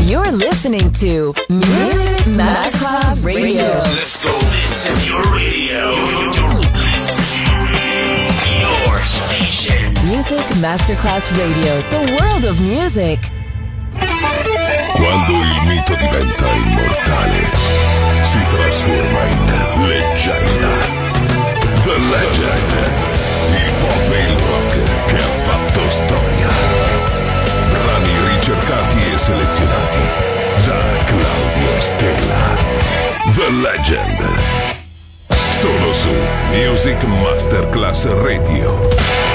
You're listening to Music Masterclass Radio. Let's go. This is your radio. Your station. Music Masterclass Radio. The world of music. Quando il mito diventa immortale, si trasforma in leggenda. The Legend, il pop e il rock che ha fatto storia. Brani ricercati e selezionati da Claudio Stella. The Legend, solo su Music Masterclass Radio.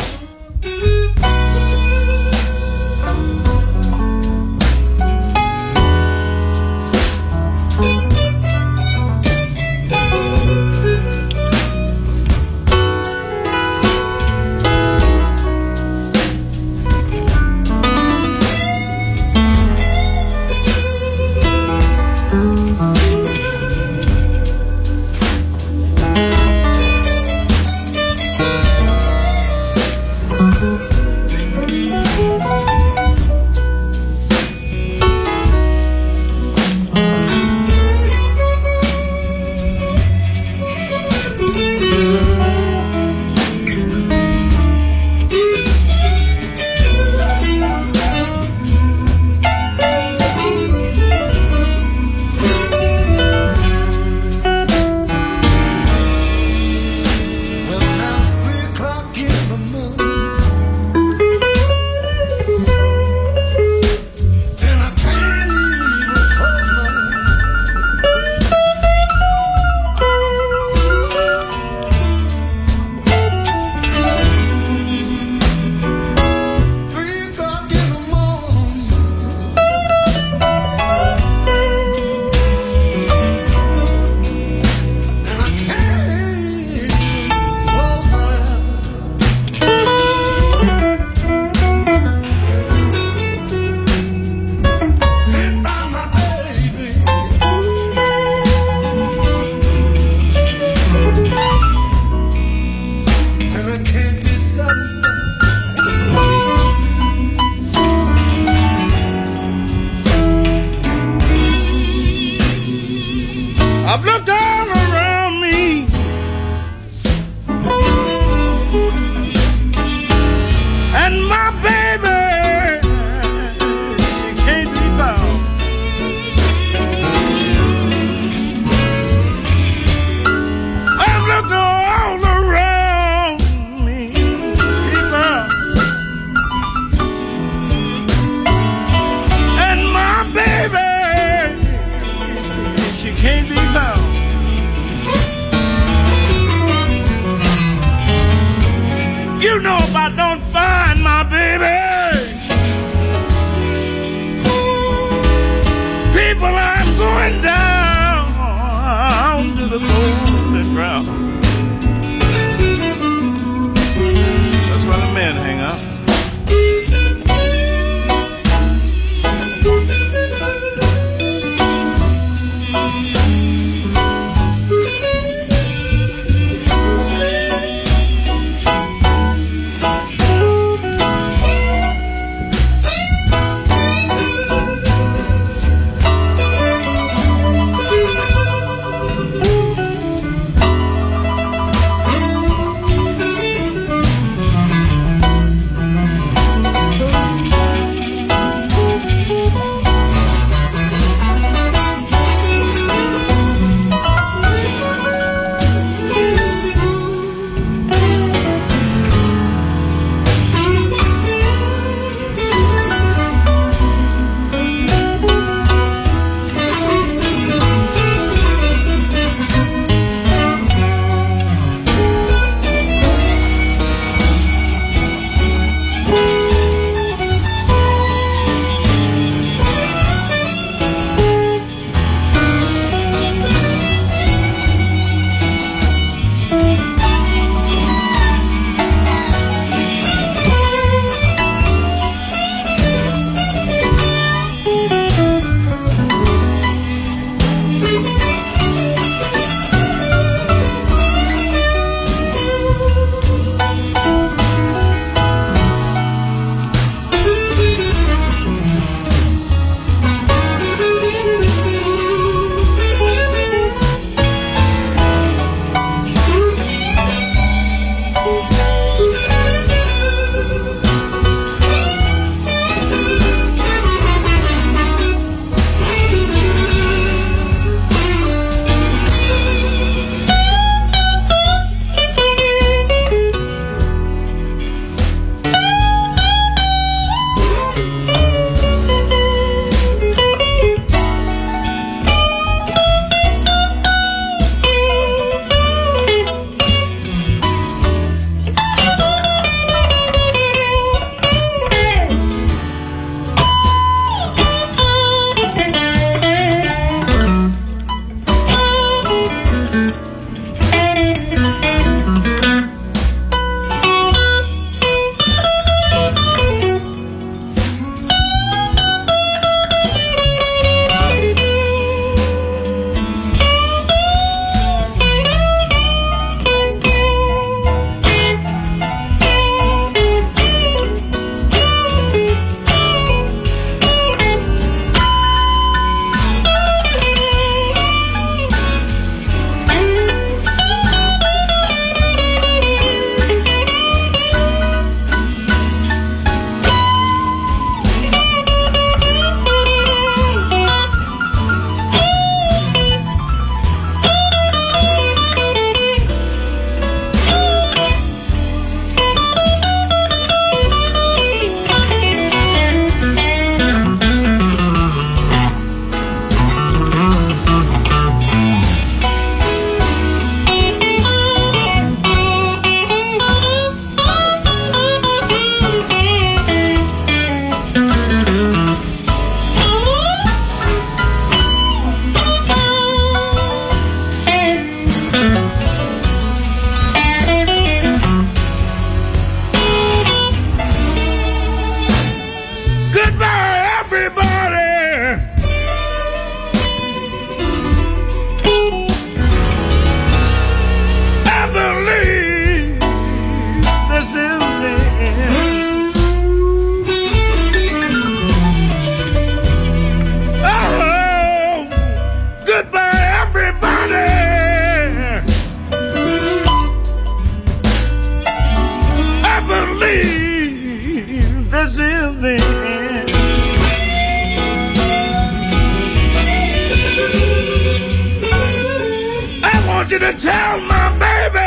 want you to tell my baby,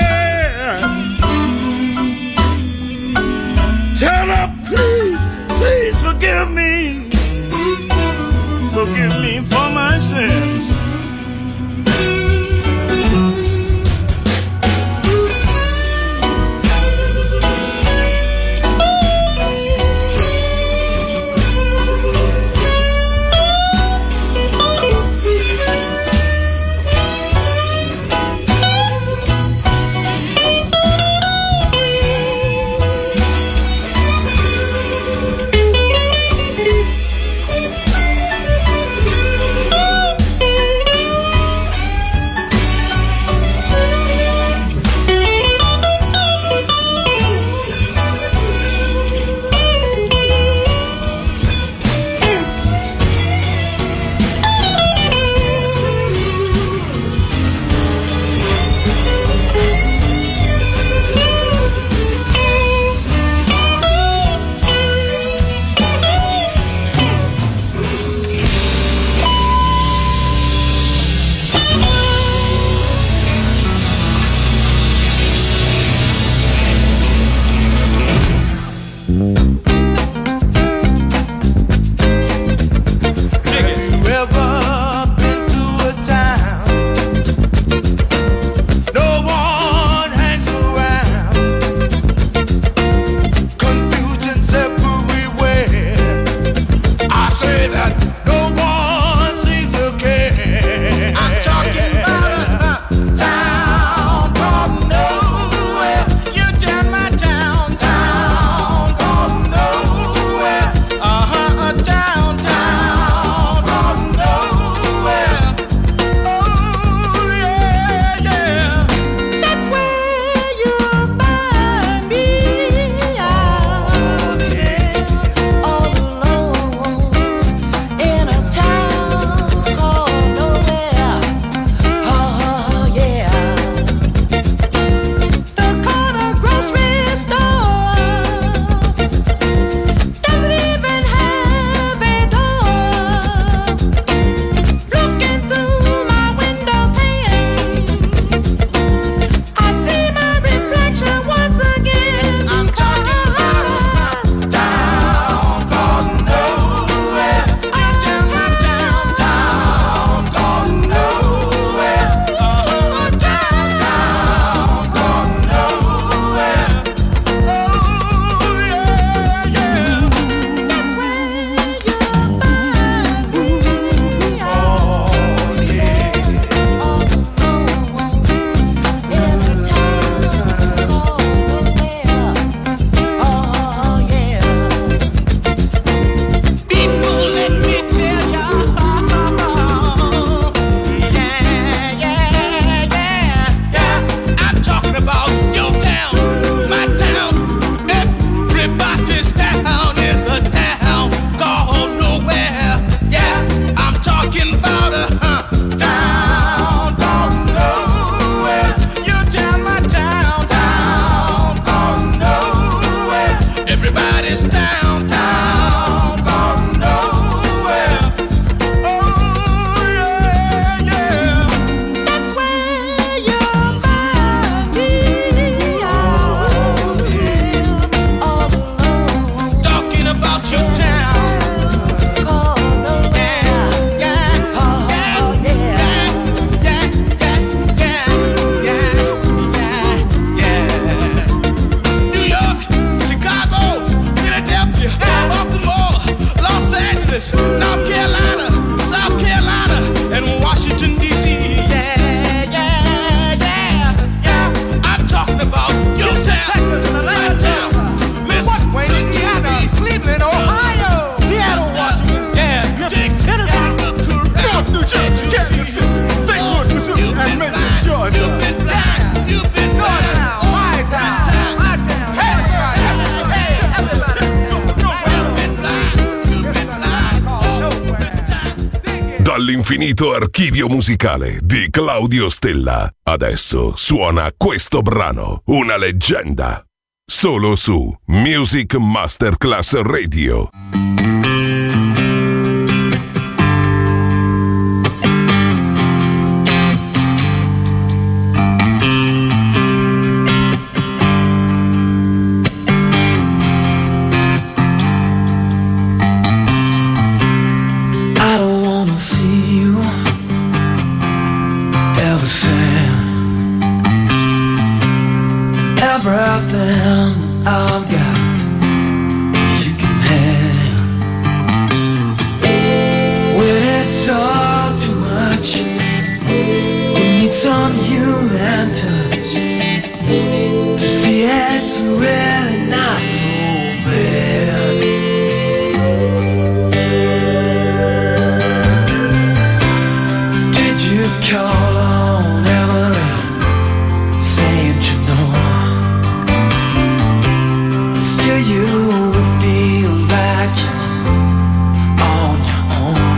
tell her please, please forgive me for my sins. Dall'infinito archivio musicale di Claudio Stella, adesso suona questo brano, una leggenda, solo su Music Masterclass Radio. nothing I've got you can have. When it's all too much, we need some human touch to see it's really not so bad. Did you call on Emily, saying you know? Still you would feel like you're on your own.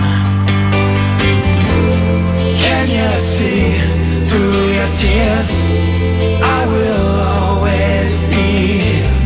Can you see through your tears? I will always be here.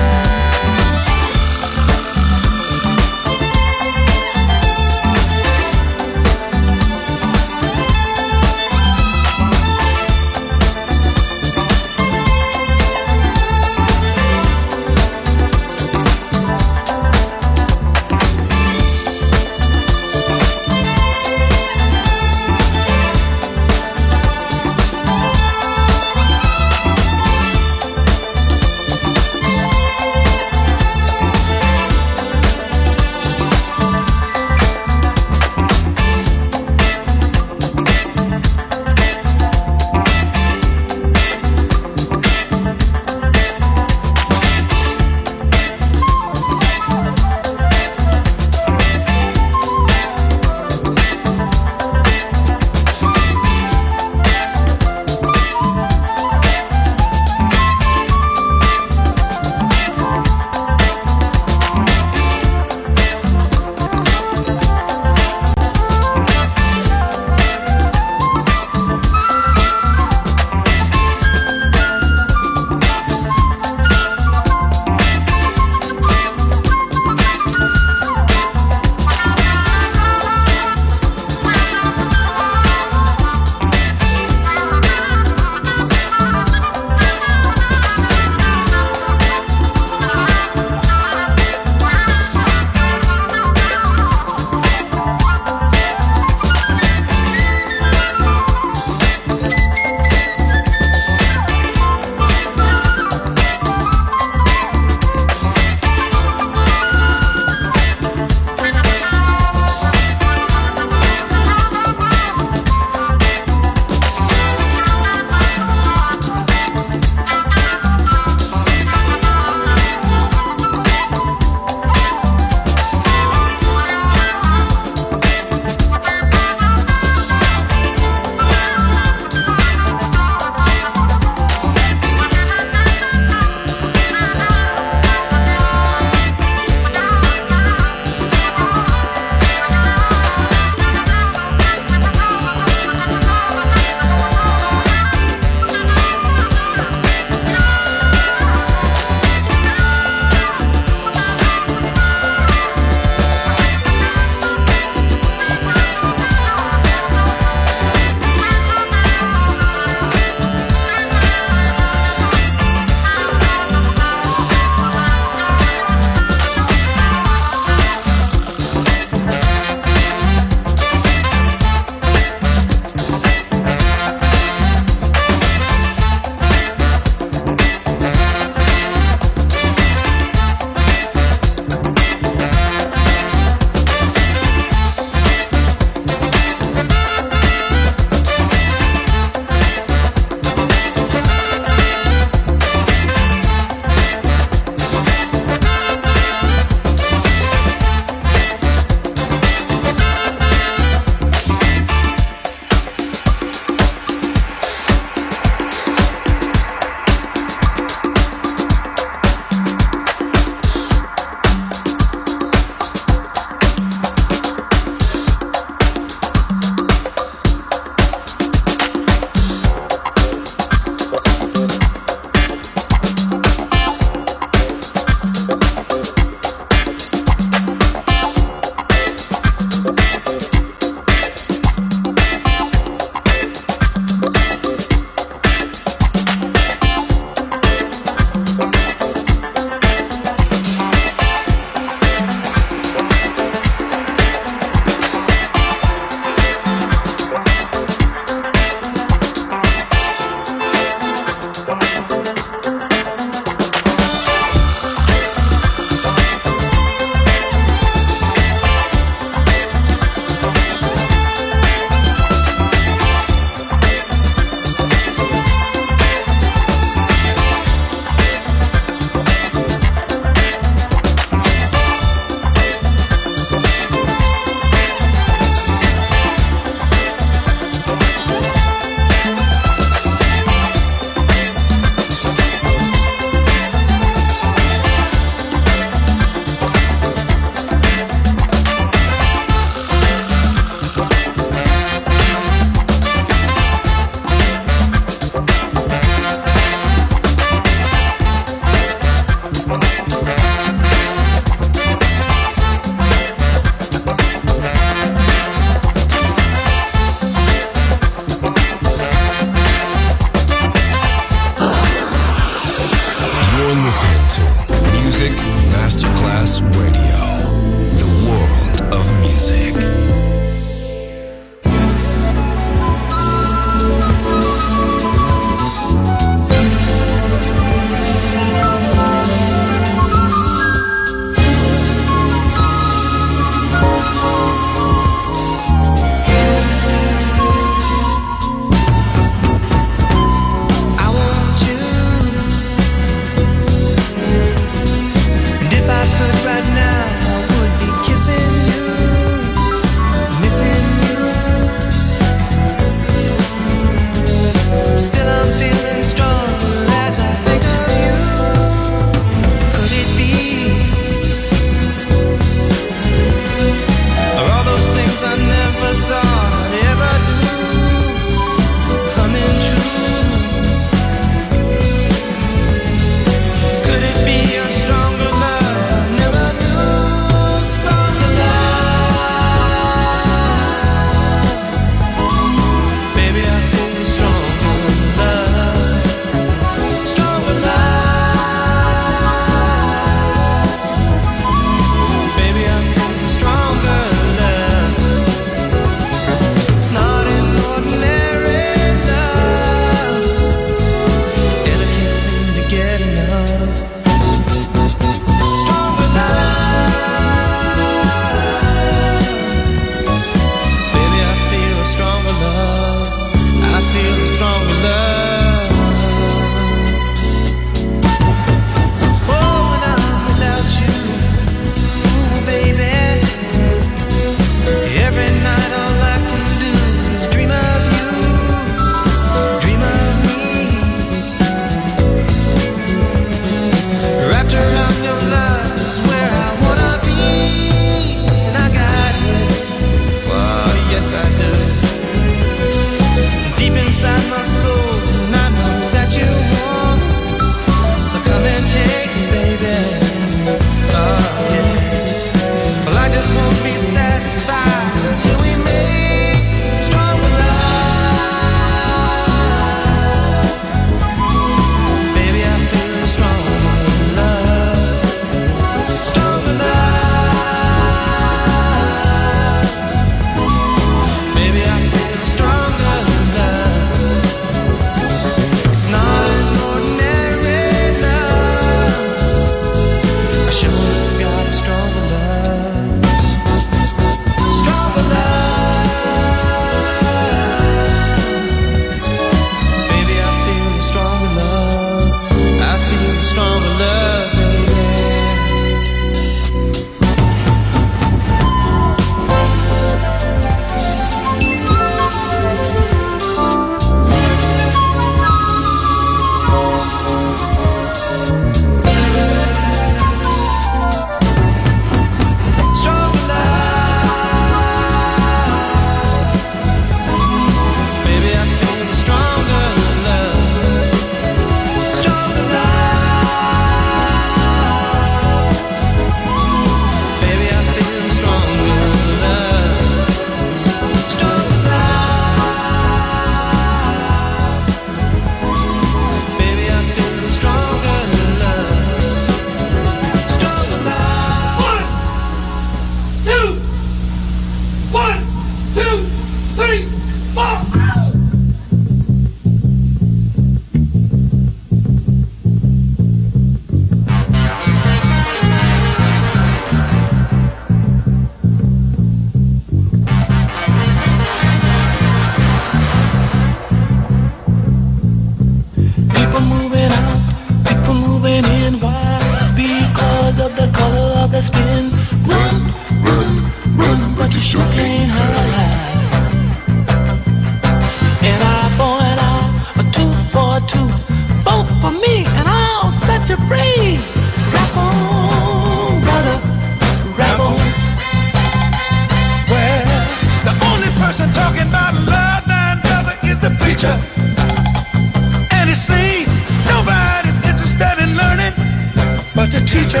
person talking about love, none other is the preacher. And it seems nobody's interested in learning but the teacher.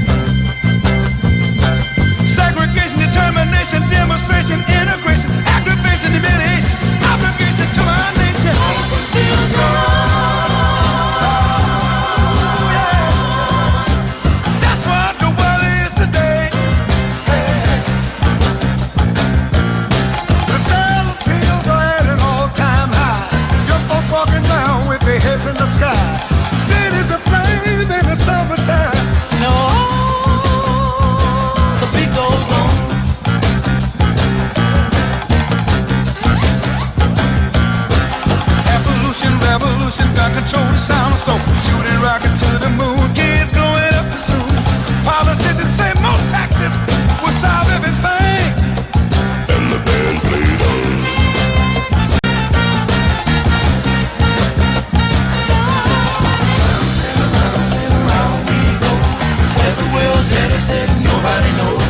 Segregation, determination, demonstration, integration, aggravation, humiliation, obligation to our nation. That's what the world is today. The sale of pills are at an all-time high. Young folks walking down with their heads in the sky. Cities aflame in the summertime. No, the beat goes on. Evolution, revolution, got control the sound of soul. Shooting rockets to the moon, kids growing up too soon. Politicians say more taxes will solve everything. And the band played on. Said nobody knows.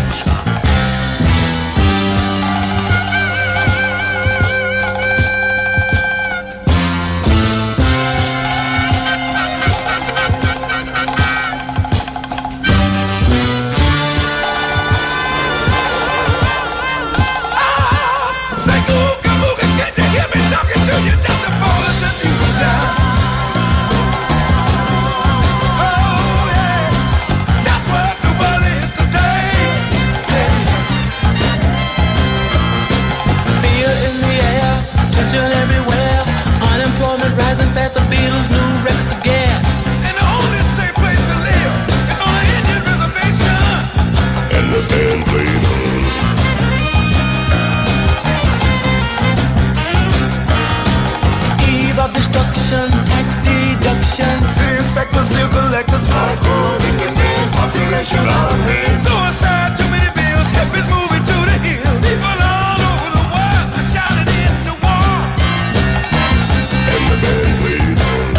Tax deduction. See inspectors, bill collectors, population on hands. Suicide, too many bills, help is moving to the hill. People all over the world are shouting in the war. And the band plays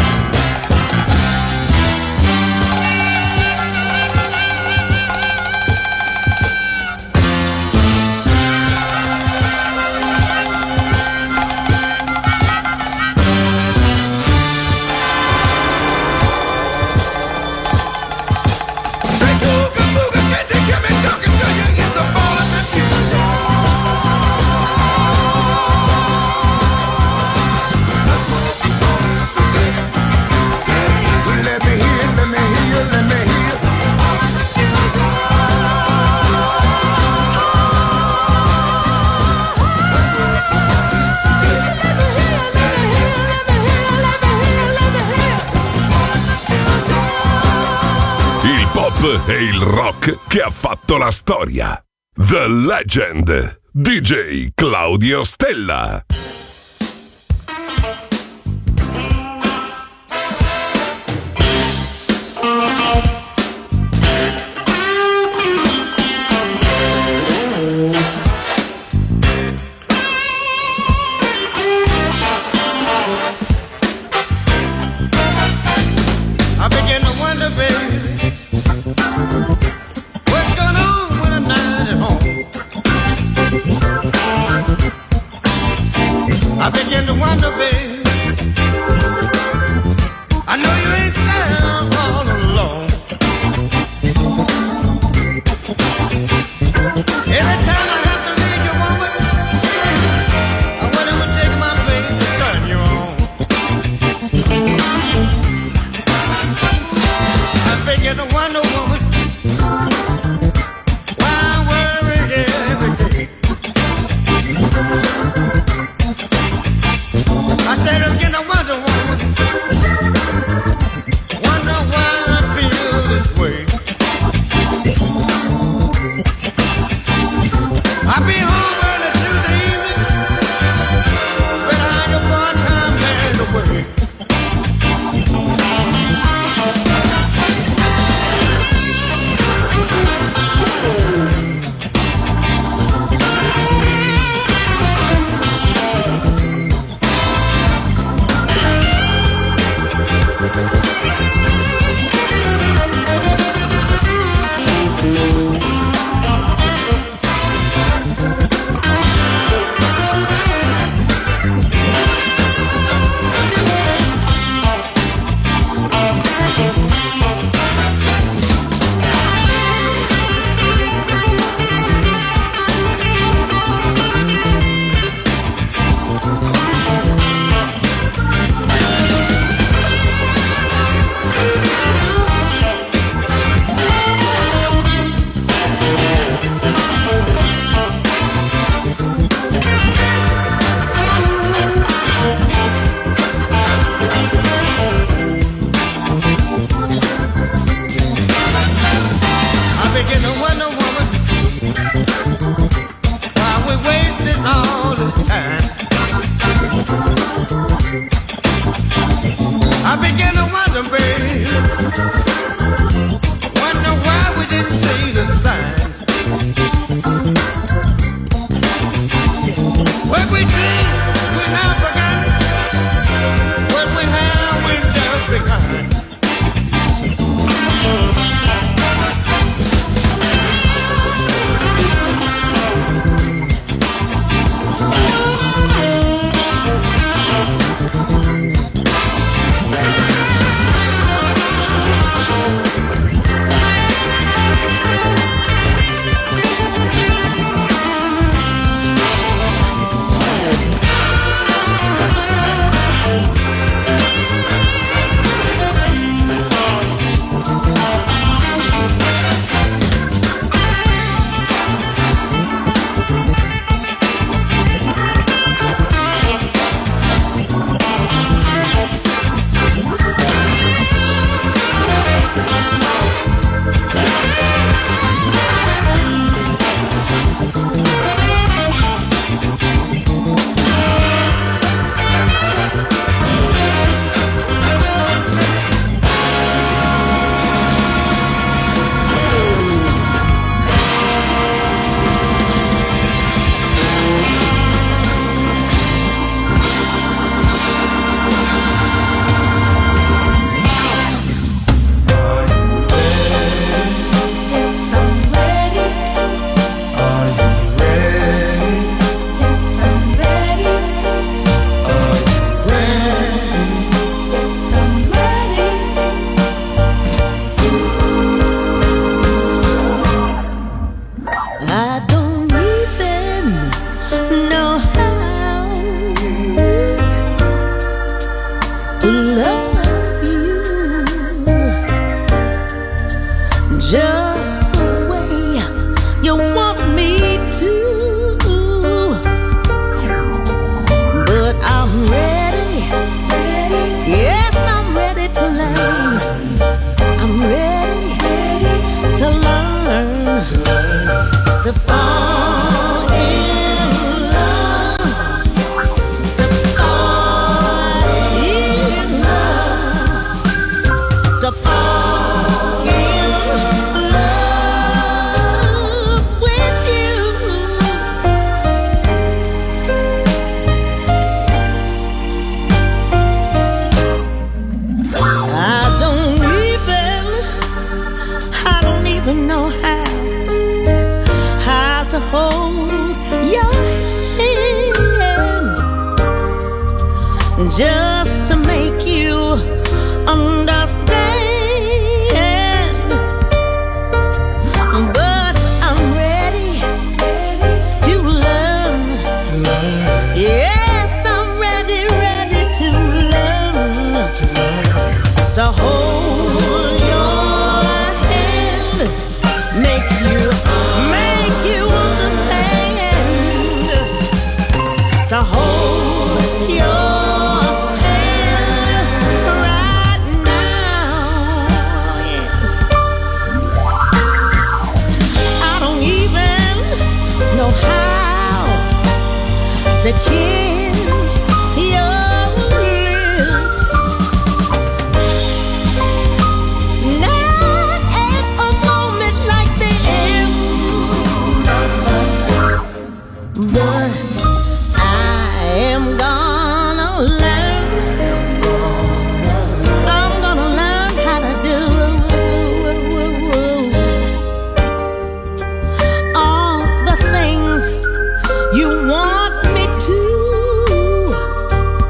e il rock che ha fatto la storia. The Legend, DJ Claudio Stella. I begin to wonder, baby, what's going on when I'm not at home? I begin to wonder, baby, I know you ain't there all alone. Every time I have to leave you, woman, I wonder who's taking my place to turn you on. I begin to wonder, woman, why I worry every day. I said sweet thing we have forgotten. What we have we left behind. Just to make you understand, but I'm ready to learn. Yes, I'm ready to learn. To hold your hand, make you understand. To hold your to kiss your lips, not at a moment like this, but I am gonna learn. I'm gonna learn how to do all the things you want.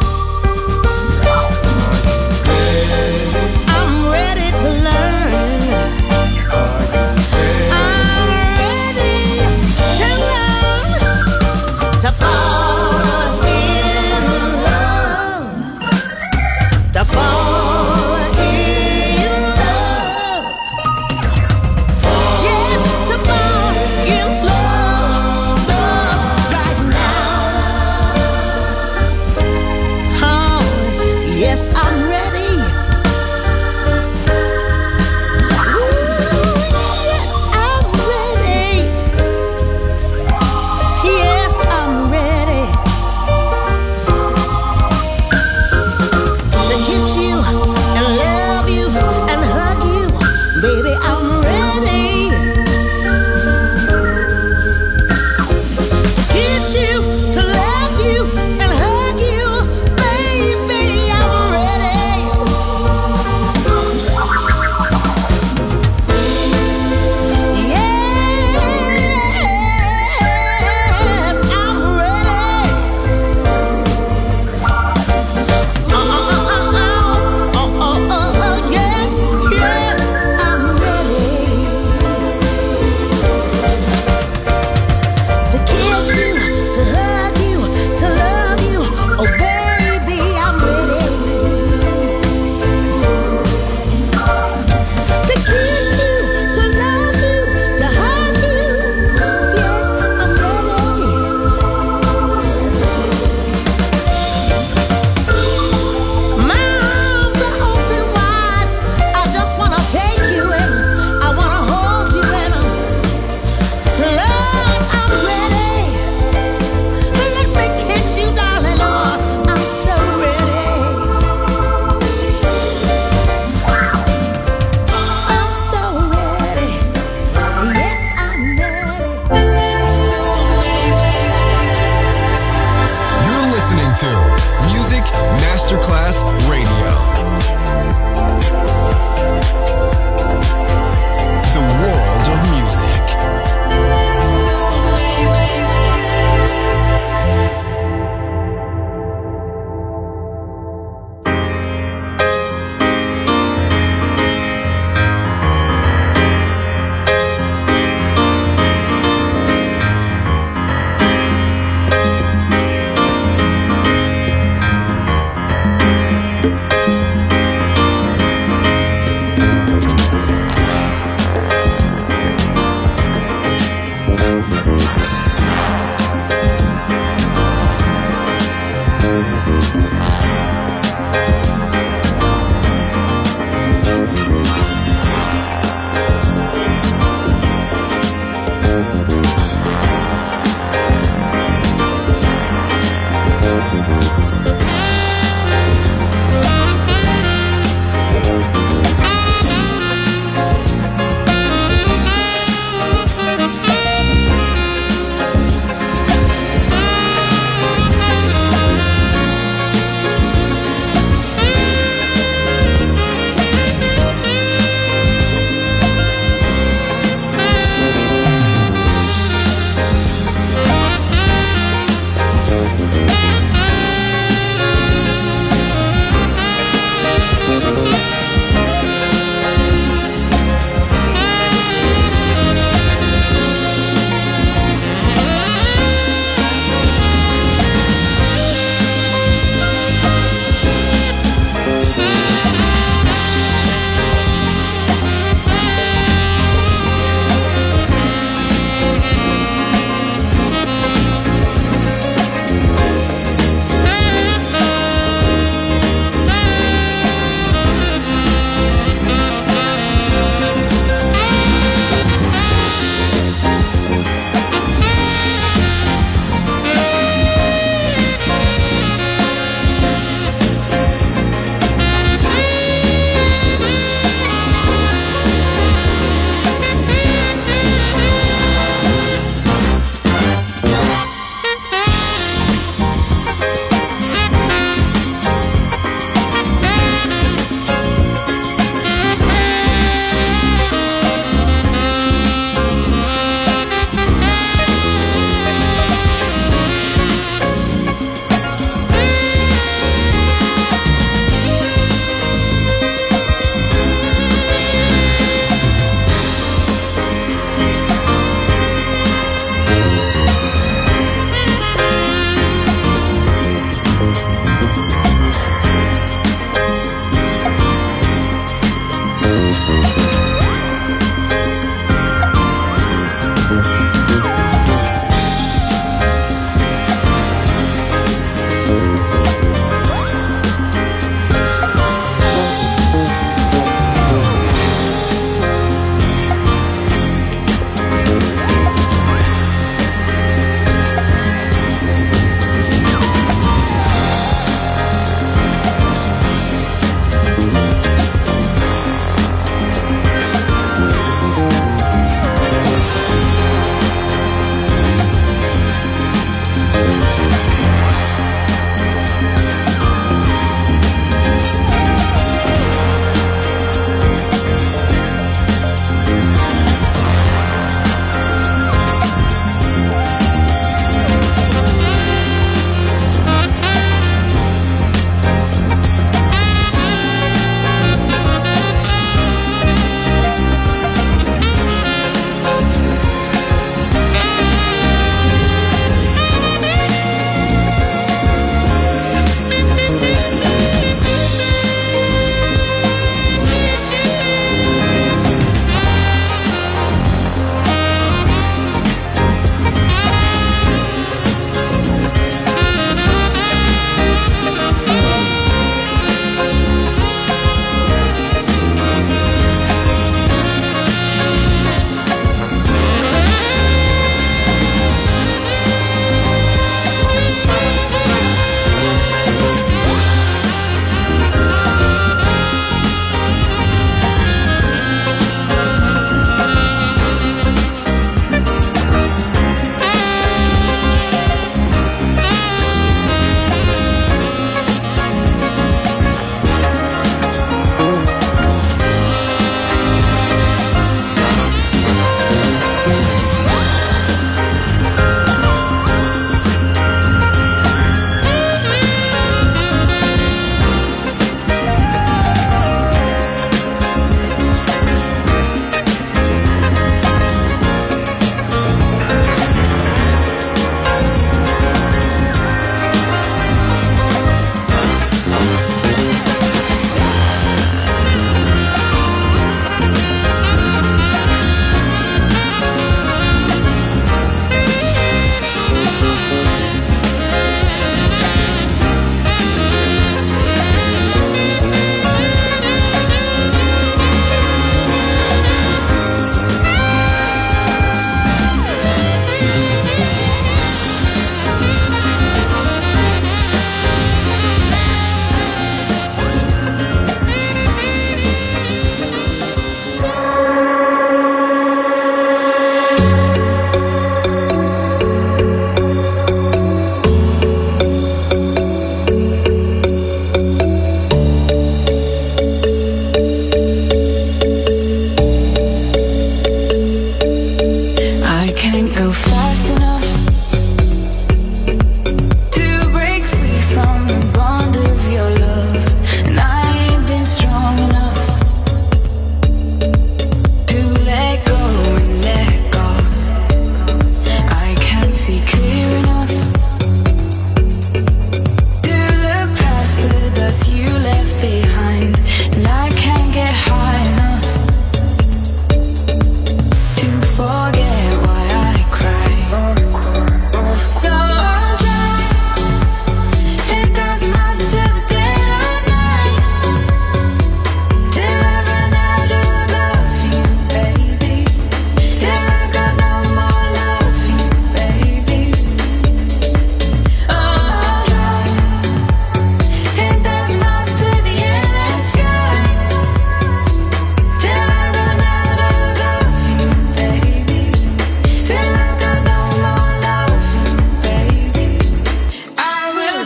listening to Music Masterclass Radio. The world of music.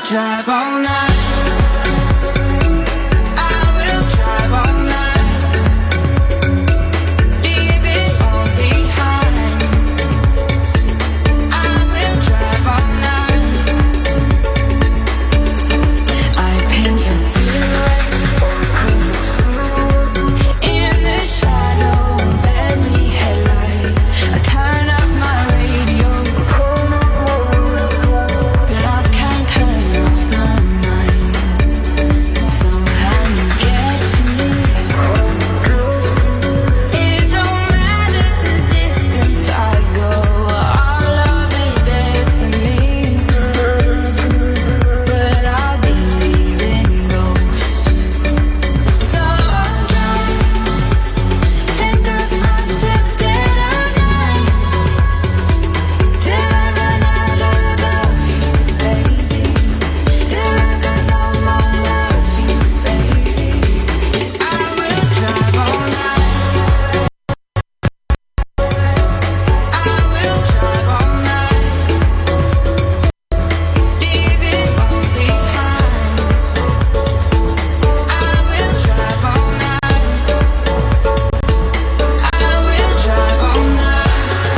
drive all night. I will drive all night. Leave it all behind. I will drive all night. I paint your silhouette in the shadow of every headlight. I turn up my radio, but I can't turn off my mind. Somehow you get to me. It don't matter the distance I go, our love is there to me. But I believe in ghosts. So I'll drive, fingers crossed till dead of night, till I run out of love for you, baby. Till I got no more love for you, baby. I will drive all night. I will drive all night. Leave it all behind. I will drive all night. I will drive all night.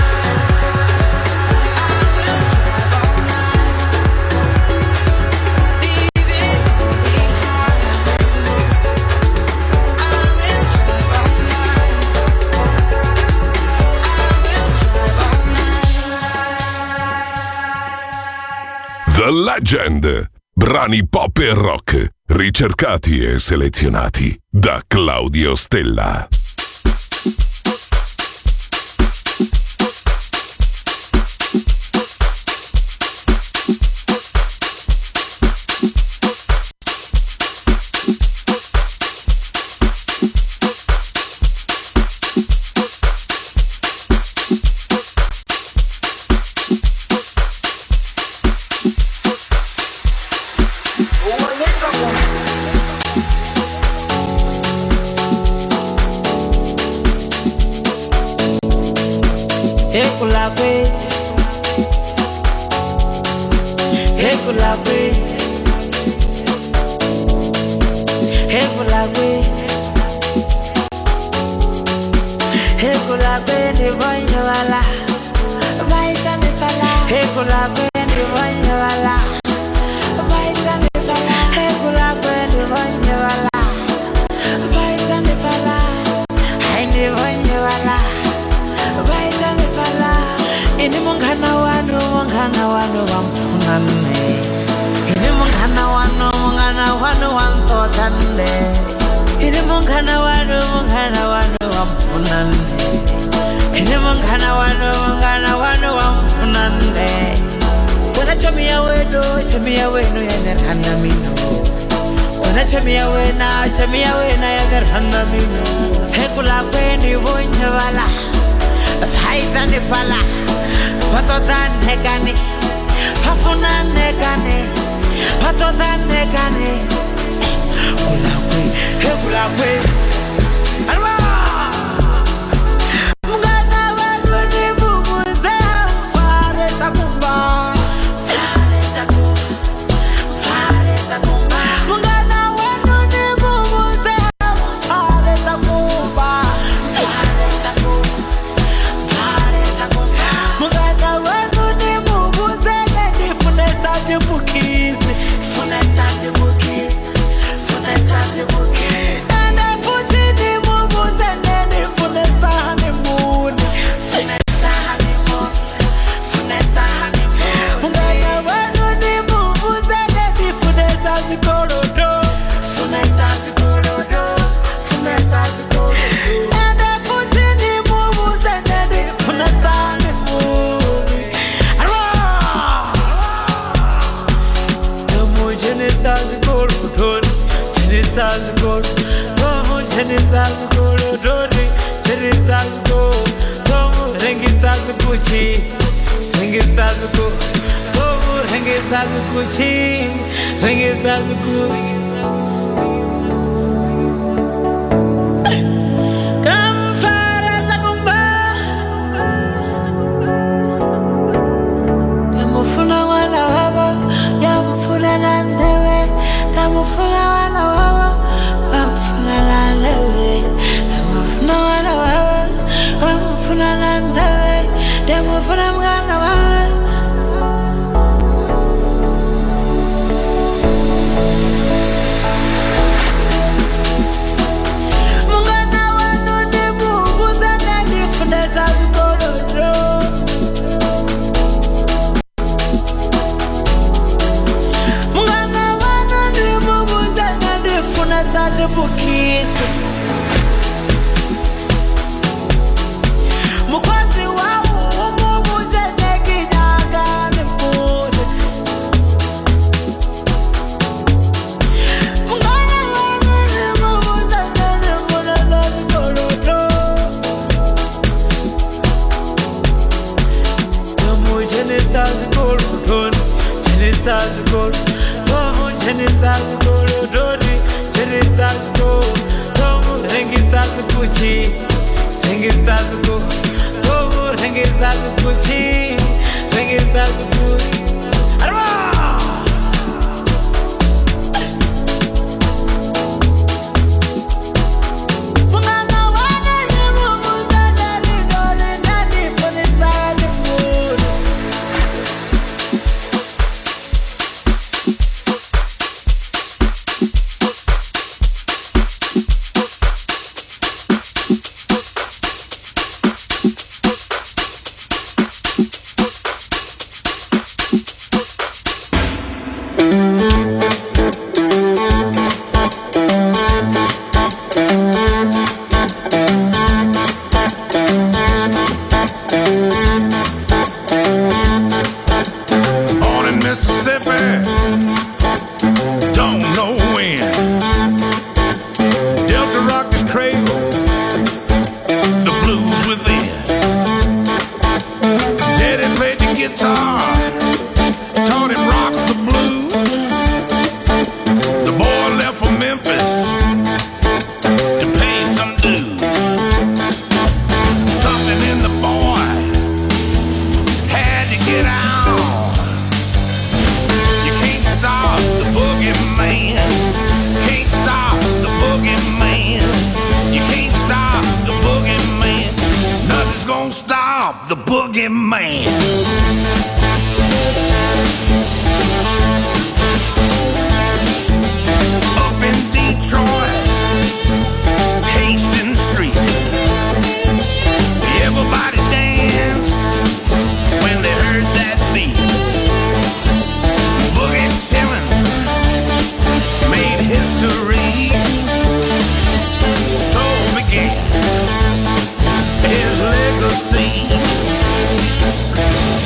I will drive all night. Leave it all behind. I will drive all night. The Legend. Brani pop e rock, ricercati e selezionati da Claudio Stella. Ekulakwe, ekulakwe, ekulakwe, ekulakwe ni bonye wala, baita ni fala. Ekulakwe ni bonye wala, baita ni fala. Ekulakwe ni bonye wala, baita ni fala. Hai ni bonye wala. Ini mungana wanu wamfunane. Ini mungana wanu wantotande. Ini mungana wanu wamfunane. Ini mungana wanu wamfunane. Wana chamia wenu yanerhana mino. Wana chamia wena yanerhana mino. Hekula kweni bonye wala. Haita ni fala, patotan negane, pafuna negane, patotan negane. Kulakwe, he kulakwe. Alwa. Mungana wanu ni bubuze, fare takumba. Mungana wanu ni bubuze, fare takumba. Mungana wanu ni mubuze, funesa de bukizi, funesa de bukizi, funesa de bukizi. Ane futi ni mubuze, nene funesa honeymoon, funesa honeymoon, funesa honeymoon. Mungana wanu ni mubuze, nene funesa zikorodo, funesa zikorodo, funesa zikorodo. Ane futi ni mubuze, nene funesa honeymoon. Mufuna wana wabo ya mfuna nani bukisi mukwazi wawo umubuze nekinyaga nifune mungane wene mubuze nefune lozikoloto Jenitazikolo, Jenitazikolo, Tomu Jenitazikolo, Jenitazikolo, Tomu Rengitazikuchi, Rengitaziko, Tomu Rengitazikuchi, Rengitazikuchi. His legacy.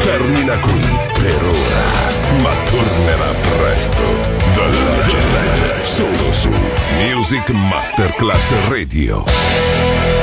termina qui per ora, ma tornerà presto. The Legend, solo su Music Masterclass Radio.